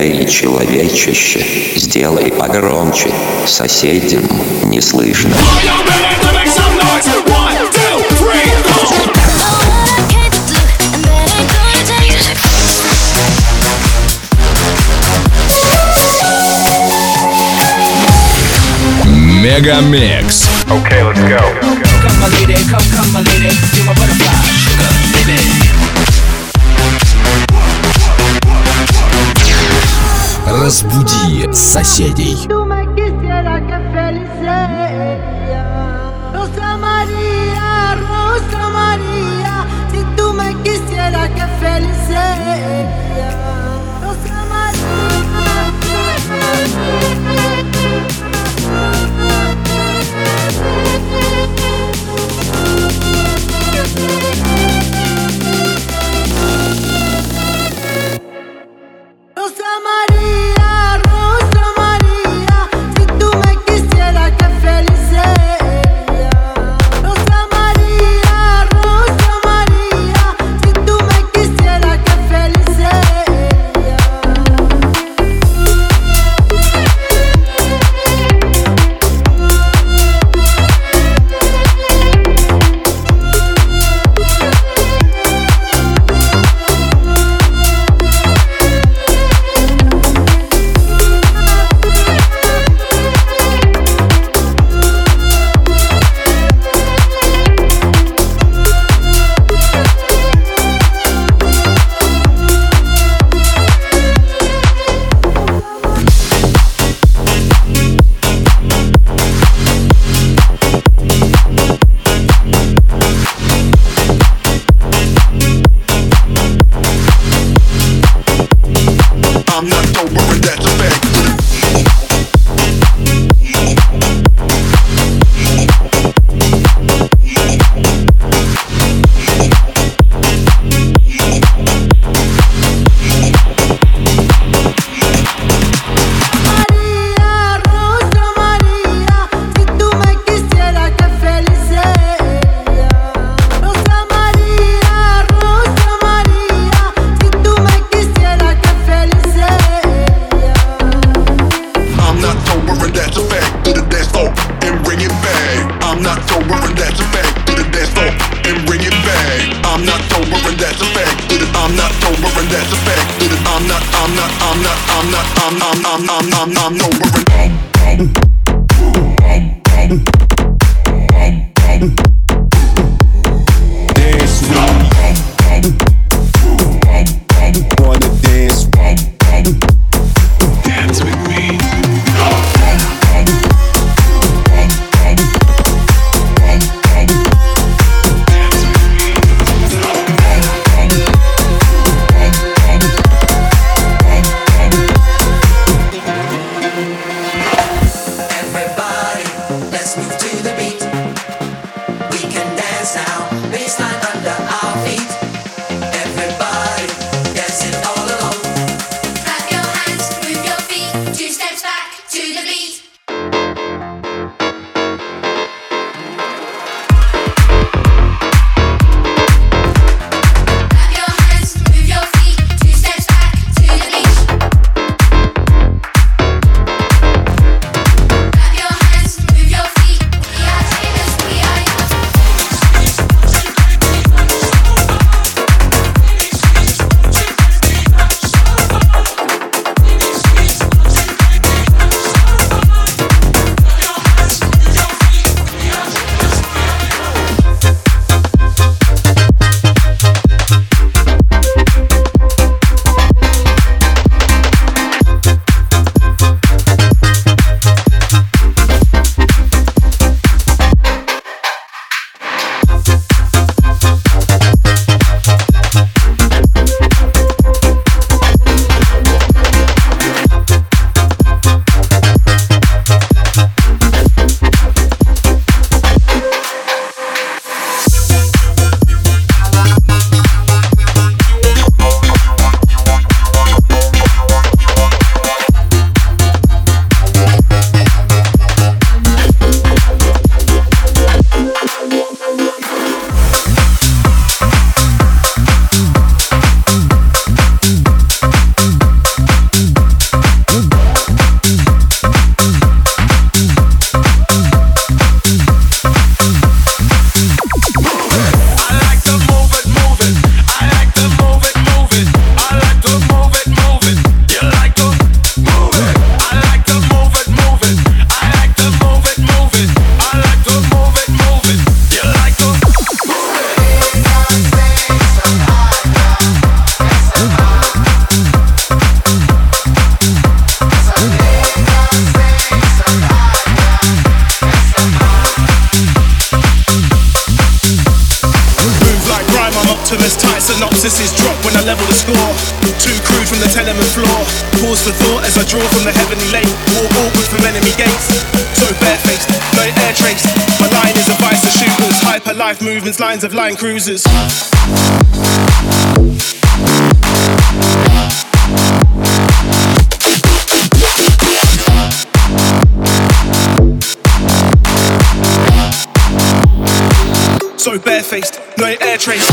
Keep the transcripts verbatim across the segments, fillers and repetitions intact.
Эй, человечище, сделай погромче, соседям не слышно. Мегамикс. Okay, let's go. Come my lady, come, come my lady, you're my butterfly, sugar, baby. Разбуди соседей. the score. Too crude from the tenement floor. Pause for thought as I draw from the heavenly lake. Walk awkward from enemy gates. So barefaced, no air trace. My line is a vice of shooters. Hyper life movements, lines of line cruisers. So barefaced, no air trace.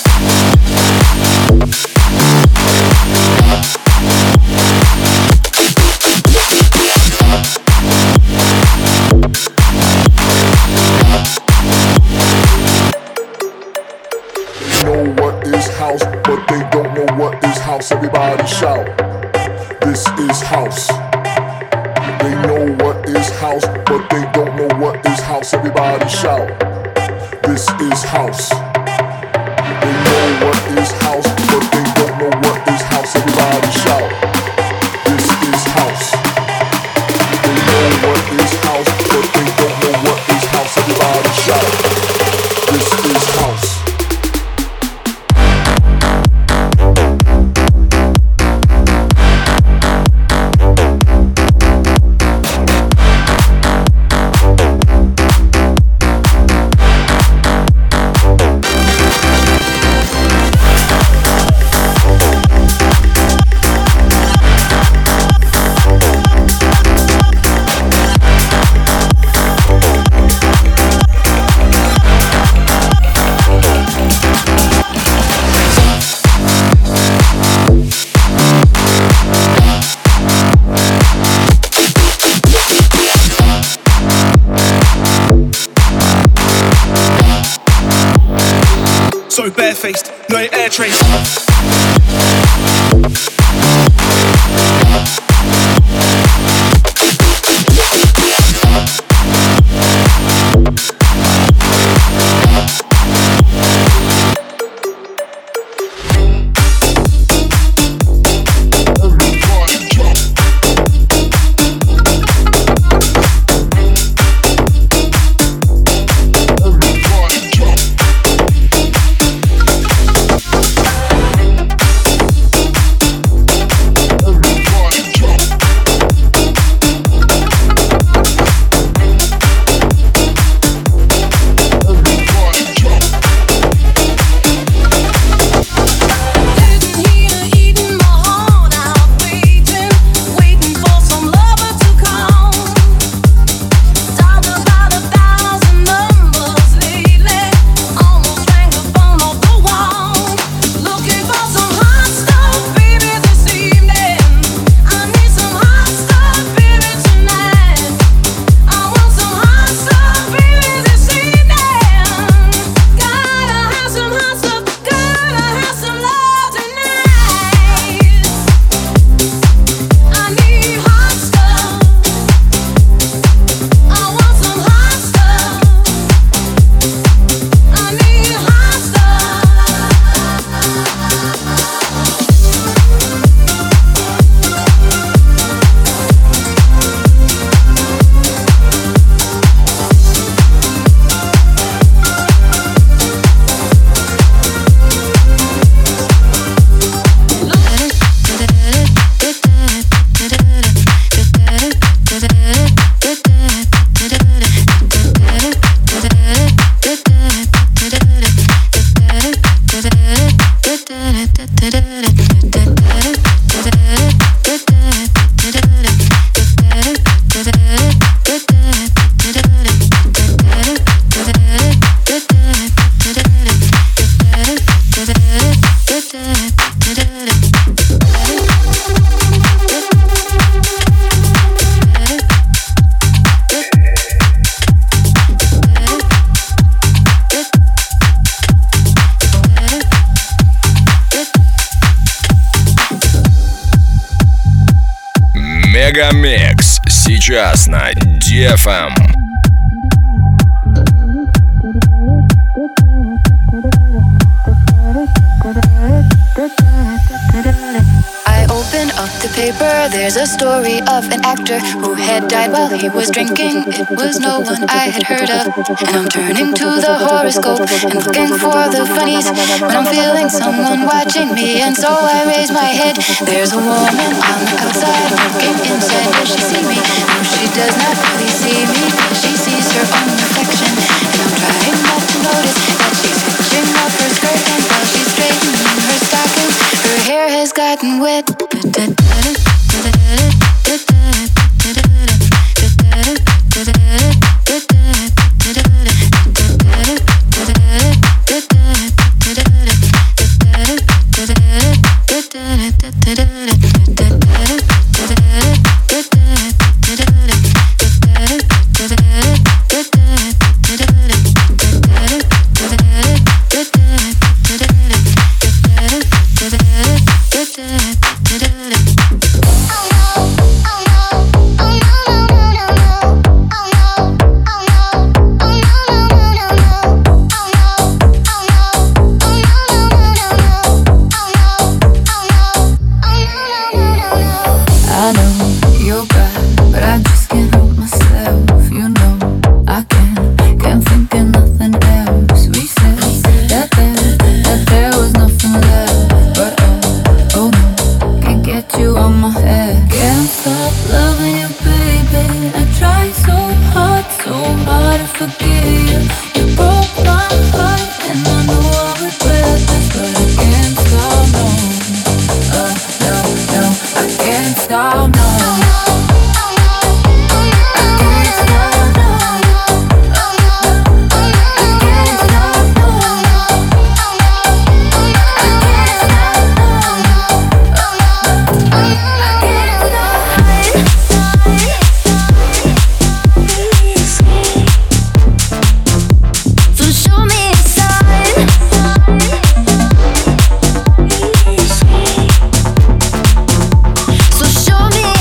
Know what is house, but they don't know what is house. Everybody shout, this is house. They know what is house, but they don't know what is house. Everybody shout, this is house. They know what is house, but they don't know what is house. Everybody shout, this is house. They know what is house, but they don't know what is house. Everybody shout, this is house. So barefaced, no air trace. Мегамикс сейчас на ди эф эм. I open up the paper paper, there's a story of an actor who had died while he was drinking. It was no one I had heard of. And I'm turning to the horoscope and looking for the funnies when I'm feeling someone watching me. And so I raise my head. There's a woman on the outside looking inside. Does she see me? No, she does not really see me. She sees her own reflection. And I'm trying not to notice that she's hitching up her skirt. And while she's straightening her stockings, her hair has gotten wet. So show me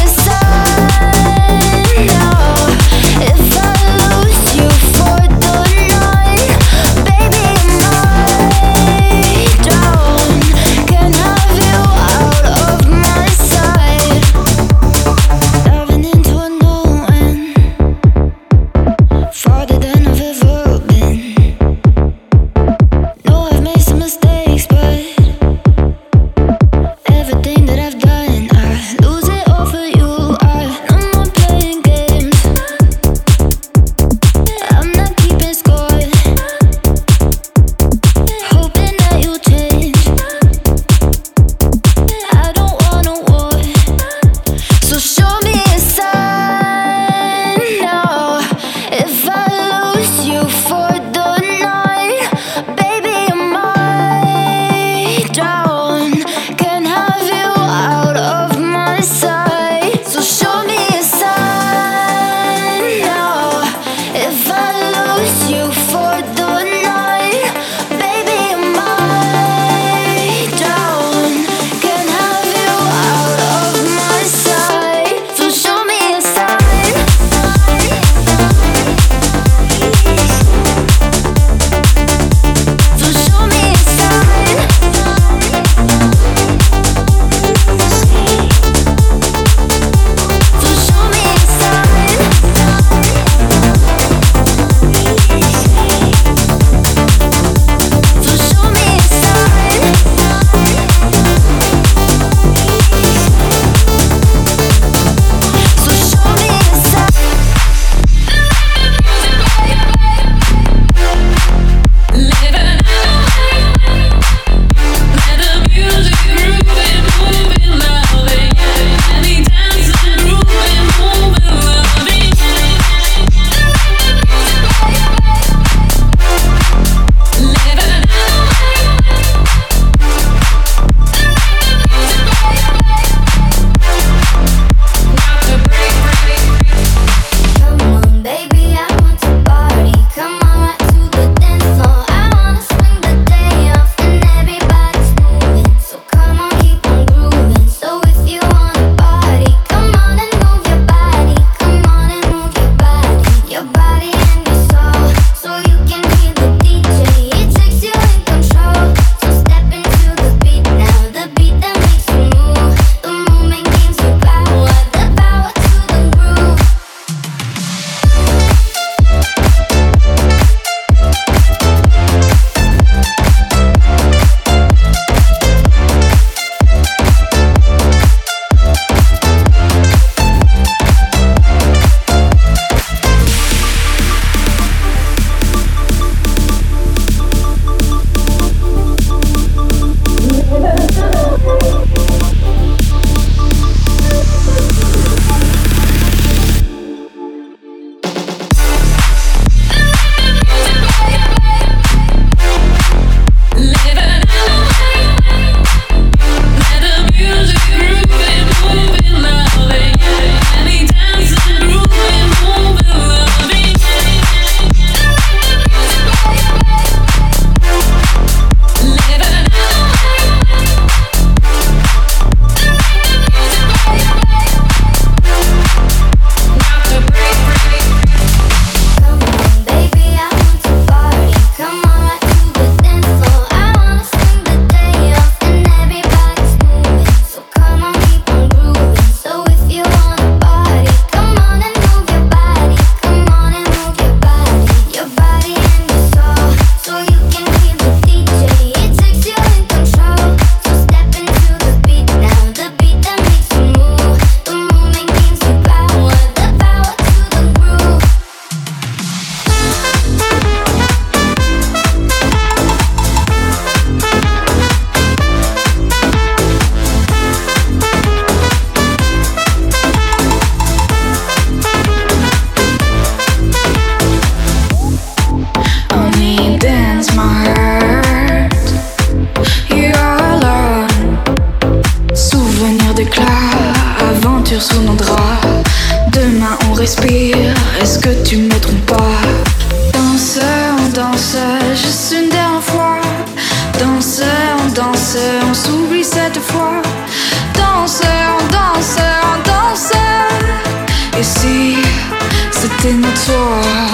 aventure sous nos draps. Demain on respire, est-ce que tu me trompes pas? Danse, on danse, juste une dernière fois. Danse, on danse, on s'oublie cette fois. Danse, on danse, on danse. Et si c'était notre soir?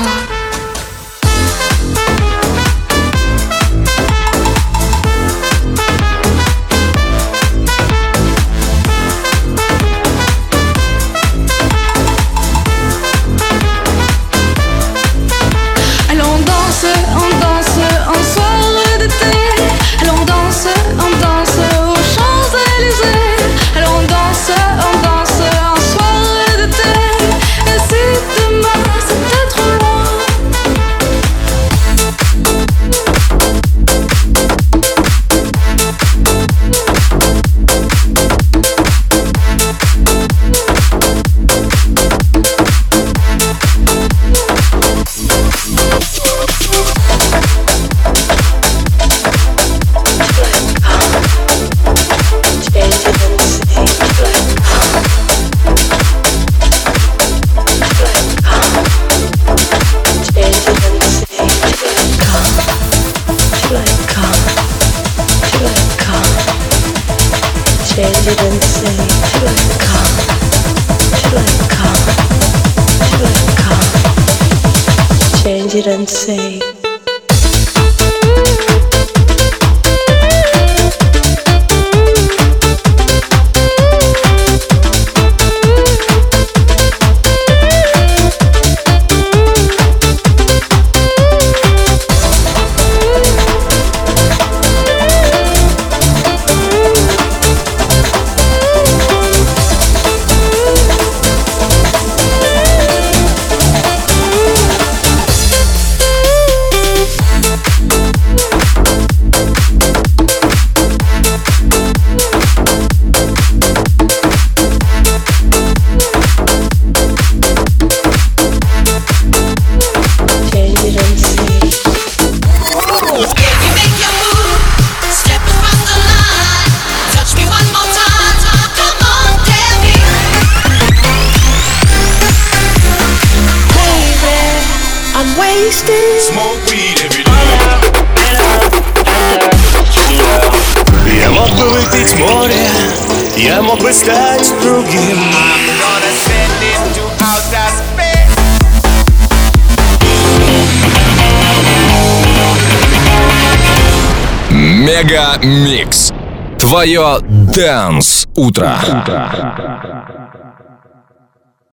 Didn't say. Я мог бы выпить море, я мог бы стать другим. Мега Микс. Твое Dance утро.